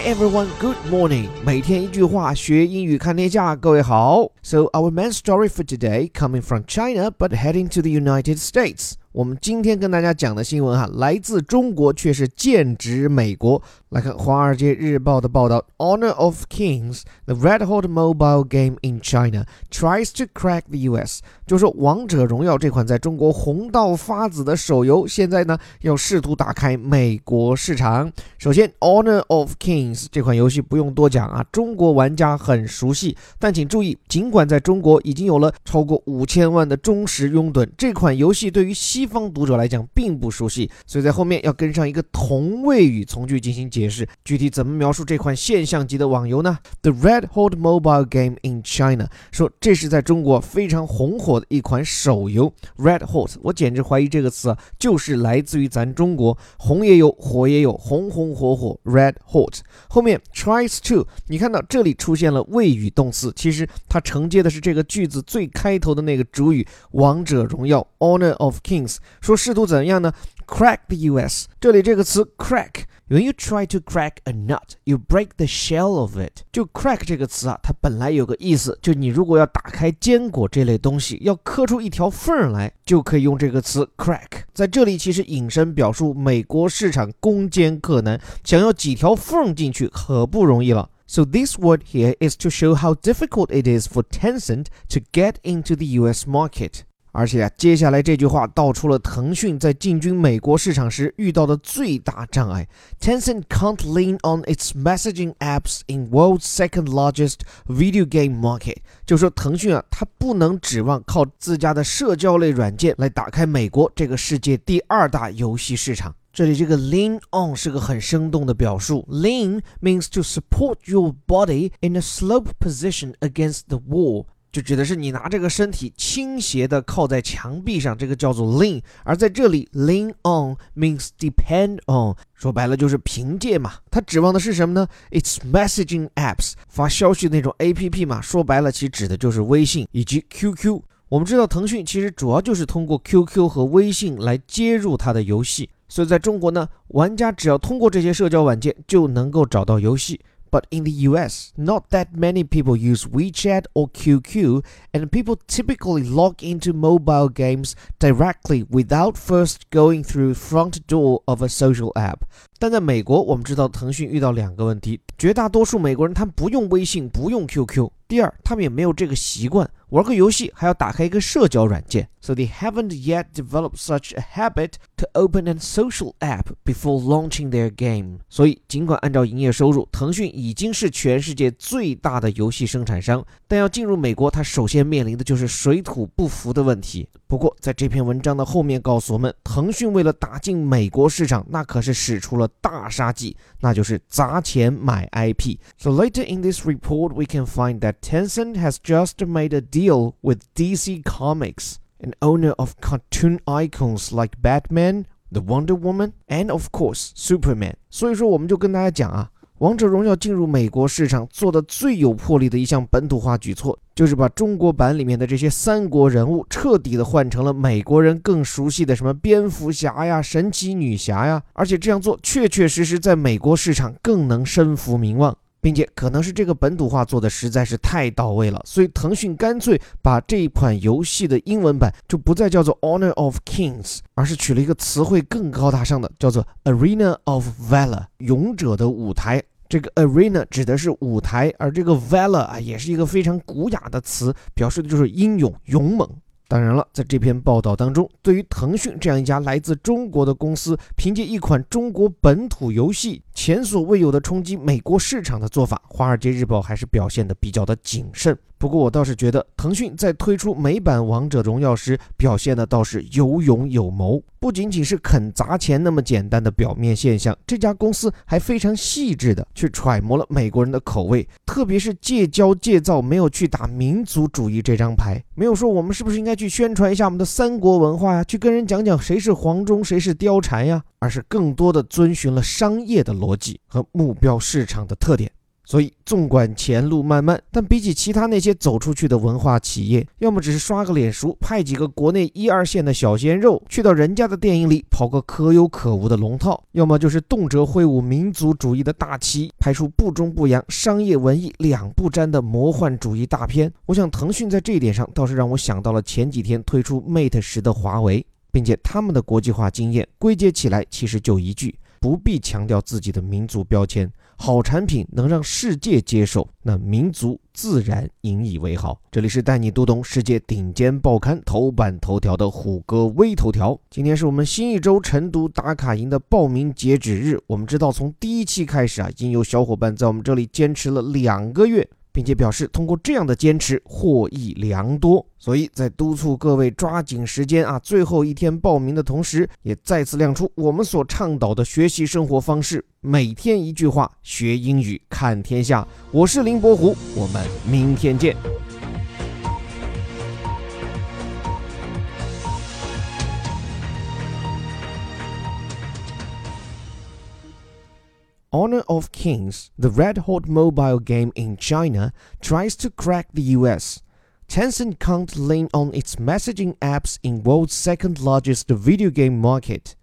everyone, good morning. 每天一句话，学英语看天下。各位好。So our main story for today coming from China, but heading to the United States. 我们今天跟大家讲的新闻来自中国，却是剑指美国。来看《华尔街日报》的报道 ，Honor of Kings, the red-hot mobile game in China, tries to crack the U.S. 就说《王者荣耀》这款在中国红到发紫的手游，现在呢要试图打开美国市场。首先 ，Honor of Kings 这款游戏不用多讲中国玩家很熟悉，但请注意，尽管在中国已经有了超过5000万的忠实拥趸，这款游戏对于西方读者来讲并不熟悉，所以在后面要跟上一个同位语从句进行解释。具体怎么描述这款现象级的网游呢？ The red-hot mobile game in China 说这是在中国非常红火的一款手游。Red-hot 我简直怀疑这个词就是来自于咱中国，红也有，火也有，红红火火 Red-hot。后面 tries to 你看到这里出现了谓语动词，其实它承接的是这个句子最开头的那个主语王者荣耀 Honor of Kings。说试图怎样呢 ？Crack the US。这里这个词 crack，when you try to crack a nut, you break the shell of it。就 crack 这个词它本来有个意思，就你如果要打开坚果这类东西，要磕出一条缝来，就可以用这个词 crack。在这里其实引申表述美国市场攻坚克难，想要几条缝进去可不容易了。So this word here is to show how difficult it is for Tencent to get into the US market。而且接下来这句话道出了腾讯在进军美国市场时遇到的最大障碍。Tencent can't lean on its messaging apps in world's second largest video game market。就说腾讯它不能指望靠自家的社交类软件来打开美国这个世界第2大游戏市场。这里这个 lean on 是个很生动的表述。Lean means to support your body in a sloped position against the wall。就指的是你拿这个身体倾斜的靠在墙壁上，这个叫做 lean。而在这里 lean on means depend on， 说白了就是凭借嘛。它指望的是什么呢？ It's messaging apps， 发消息的那种 APP 嘛，说白了其实指的就是微信以及 QQ。我们知道腾讯其实主要就是通过 QQ 和微信来接入它的游戏，所以在中国呢，玩家只要通过这些社交软件就能够找到游戏。But in the US, not that many people use WeChat or QQ, and people typically log into mobile games directly without first going through front door of a social app. 但在美国，我们知道腾讯遇到2个问题，绝大多数美国人他们不用微信，不用 QQ。第二，他们也没有这个习惯，玩个游戏还要打开一个社交软件。So they haven't yet developed such a habit to open a social app before launching their game. 所以，尽管按照营业收入，腾讯已经是全世界最大的游戏生产商，但要进入美国，它首先面临的就是水土不服的问题。不过，在这篇文章的后面告诉我们，腾讯为了打进美国市场，那可是使出了大杀技，那就是砸钱买 IP. So later in this report, we can find that Tencent has just made a deal with DC Comics, an owner of cartoon icons like Batman, the Wonder Woman, and of course, Superman. 所以说我们就跟大家讲王者荣耀进入美国市场做的最有魄力的一项本土化举措，就是把中国版里面的这些三国人物彻底的换成了美国人更熟悉的什么蝙蝠侠呀、神奇女侠呀，而且这样做确确实实在美国市场更能身负名望。并且可能是这个本土化做的实在是太到位了，所以腾讯干脆把这一款游戏的英文版就不再叫做 Honor of Kings， 而是取了一个词汇更高大上的，叫做 Arena of Valor， 勇者的舞台。这个 arena 指的是舞台，而这个 valor 也是一个非常古雅的词，表示的就是英勇、勇猛。当然了，在这篇报道当中，对于腾讯这样一家来自中国的公司，凭借一款中国本土游戏前所未有的冲击美国市场的做法，华尔街日报还是表现得比较的谨慎。不过我倒是觉得腾讯在推出美版王者荣耀时表现的倒是有勇有谋，不仅仅是肯砸钱那么简单的表面现象，这家公司还非常细致的去揣摩了美国人的口味，特别是戒骄戒躁，没有去打民族主义这张牌，没有说我们是不是应该去宣传一下我们的三国文化呀，去跟人讲讲谁是黄忠谁是貂蝉呀，而是更多的遵循了商业的逻辑和目标市场的特点。 所以纵观前路漫漫，但比起其他那些走出去的文化企业，要么只是刷个脸熟，派几个国内1、2线的小鲜肉去到人家的电影里跑个可有可无的龙套，要么就是动辄挥舞民族主义的大旗，拍出不中不洋、商业文艺两不沾的魔幻主义大片。我想腾讯在这一点上倒是让我想到了前几天推出 Mate 10的华为，并且他们的国际化经验归结起来其实就一句：不必强调自己的民族标签，好产品能让世界接受，那民族自然引以为豪。这里是带你读懂世界顶尖报刊头版头条的虎哥微头条。今天是我们新一周晨读打卡营的报名截止日。我们知道从第一期开始已经有小伙伴在我们这里坚持了2个月，并且表示通过这样的坚持获益良多，所以在督促各位抓紧时间最后一天报名的同时，也再次亮出我们所倡导的学习生活方式：每天一句话，学英语看天下。我是林伯虎，我们明天见。Honor of Kings, the red-hot mobile game in China, tries to crack the US. Tencent can't lean on its messaging apps in world's second-largest video game market.